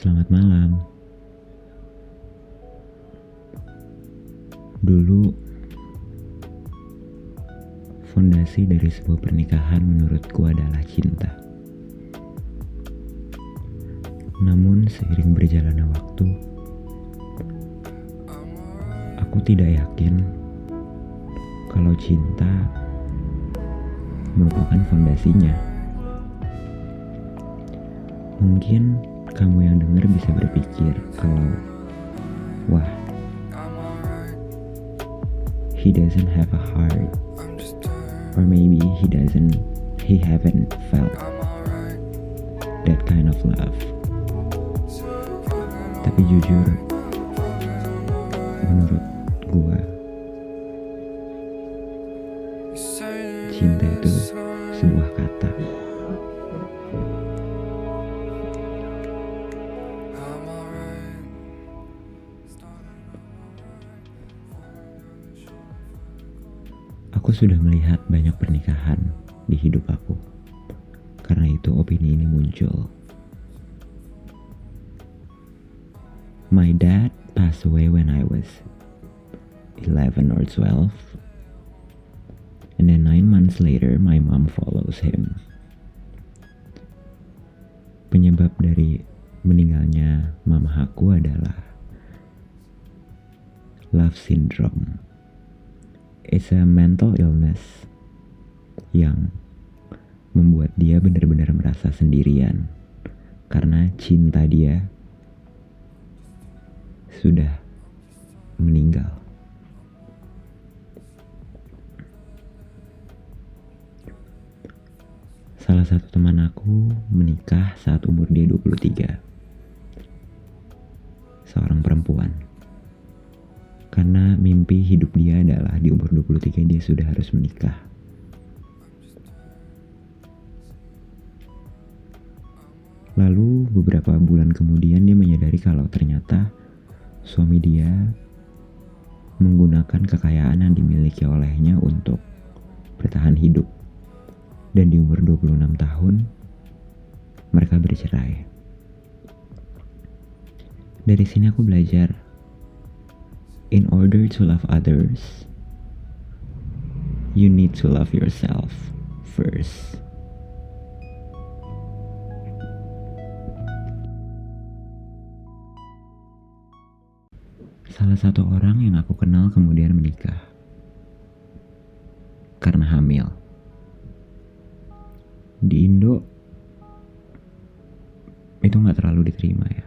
Selamat malam. Dulu, fondasi dari sebuah pernikahan menurutku adalah cinta. Namun seiring berjalannya waktu, aku tidak yakin kalau cinta merupakan fondasinya. Mungkin kamu yang dengar bisa berpikir kalau, wah, he doesn't have a heart, or maybe he haven't felt that kind of love. Tapi jujur, menurut gua, cinta itu sebuah kata. Aku sudah melihat banyak pernikahan di hidup aku. Karena itu opini ini muncul. My dad passed away when I was 11 or 12. And then 9 months later, my mom follows him. Penyebab dari meninggalnya mama aku adalah love syndrome. It's a mental illness yang membuat dia benar-benar merasa sendirian karena cinta dia sudah meninggal. Salah satu teman aku menikah saat umur dia 23. Seorang perempuan. Karena mimpi hidup dia adalah di umur 23 dia sudah harus menikah. Lalu beberapa bulan kemudian dia menyadari kalau ternyata suami dia menggunakan kekayaan yang dimiliki olehnya untuk bertahan hidup. Dan di umur 26 tahun mereka bercerai. Dari sini aku belajar, in order to love others, you need to love yourself first. Salah satu orang yang aku kenal kemudian menikah karena hamil. Di Indo itu gak terlalu diterima ya.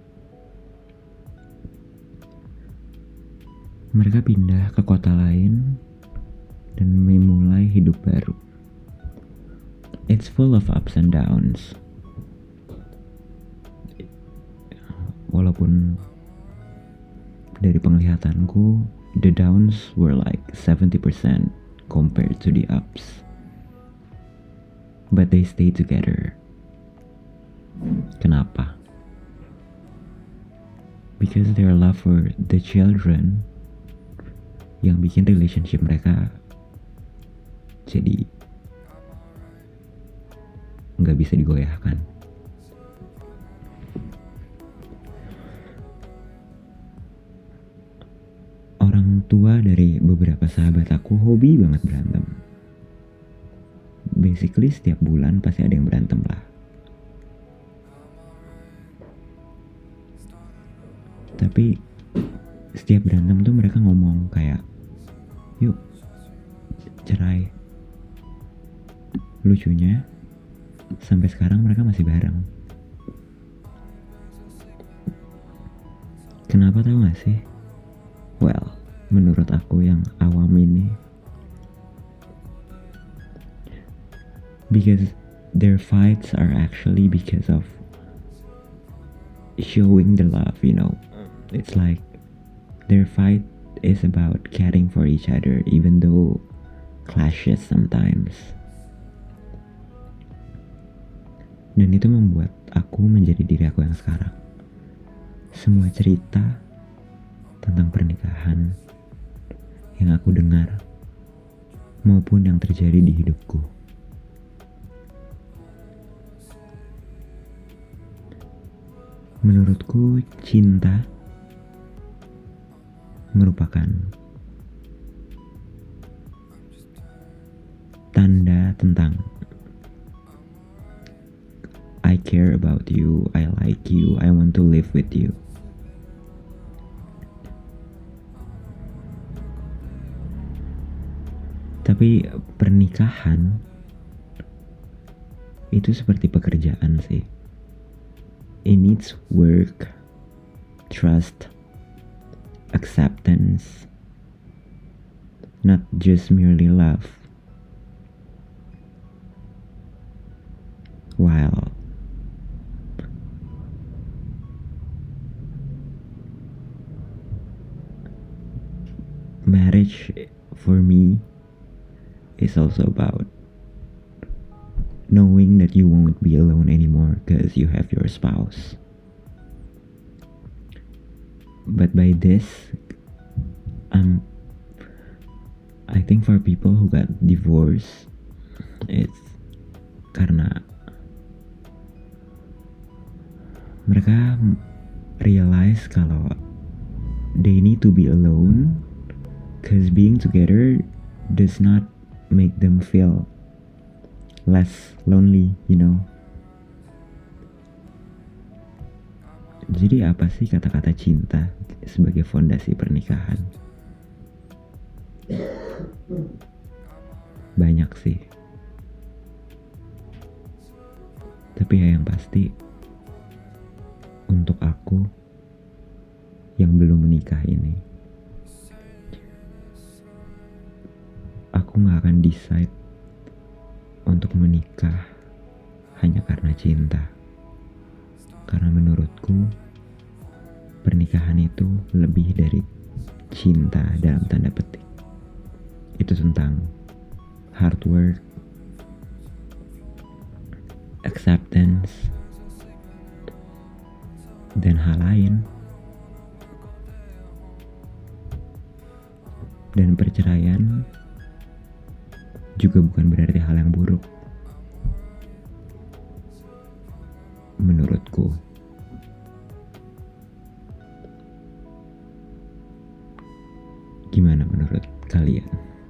Mereka pindah ke kota lain dan memulai hidup baru. It's full of ups and downs. Walaupun dari penglihatanku, the downs were like 70% compared to the ups. But they stay together. Kenapa? Because their love for the children yang bikin relationship mereka jadi nggak bisa digoyahkan. Orang tua dari beberapa sahabat aku hobi banget berantem. Basically setiap bulan pasti ada yang berantem lah. Tapi setiap berantem tuh mereka ngomong kayak, yuk cerai. Lucunya sampai sekarang mereka masih bareng. Kenapa tahu gak sih? Well, menurut aku yang awam ini, because their fights are actually because of showing the love, you know. It's like their fight is about caring for each other even though clashes sometimes. Dan itu membuat aku menjadi diri aku yang sekarang. Semua cerita tentang pernikahan yang aku dengar maupun yang terjadi di hidupku, Menurutku, cinta merupakan tanda tentang I care about you, I like you, I want to live with you. Tapi pernikahan itu seperti pekerjaan sih. It needs work, trust, acceptance, not just merely love. While marriage for me is also about knowing that you won't be alone anymore because you have your spouse. But by this, I think for people who got divorced, it's karena mereka realize kalau they need to be alone because being together does not make them feel less lonely, you know. Jadi apa sih kata-kata cinta sebagai fondasi pernikahan? Banyak sih. Tapi ya yang pasti, untuk aku yang belum menikah ini, aku gak akan decide untuk menikah hanya karena cinta. Karena menurutku pernikahan itu lebih dari cinta dalam tanda petik. Itu tentang hard work, acceptance, dan hal lain. Dan perceraian juga bukan berarti hal yang buruk. Menurutku. Gimana menurut kalian?